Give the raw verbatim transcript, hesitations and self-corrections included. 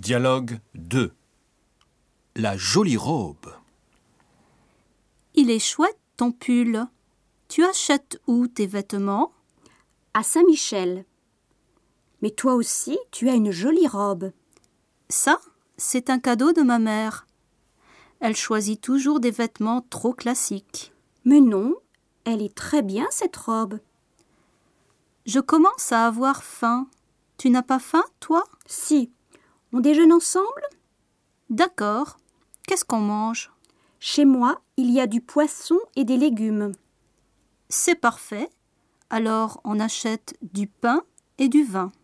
Dialogue deux. La jolie robe. Il est chouette ton pull. Tu achètes où tes vêtements? À Saint-Michel. Mais toi aussi, tu as une jolie robe. Ça, c'est un cadeau de ma mère. Elle choisit toujours des vêtements trop classiques. Mais non, elle est très bien cette robe. Je commence à avoir faim. Tu n'as pas faim, toi? Si. On déjeune ensemble? D'accord. Qu'est-ce qu'on mange? Chez moi, il y a du poisson et des légumes. C'est parfait. Alors, on achète du pain et du vin.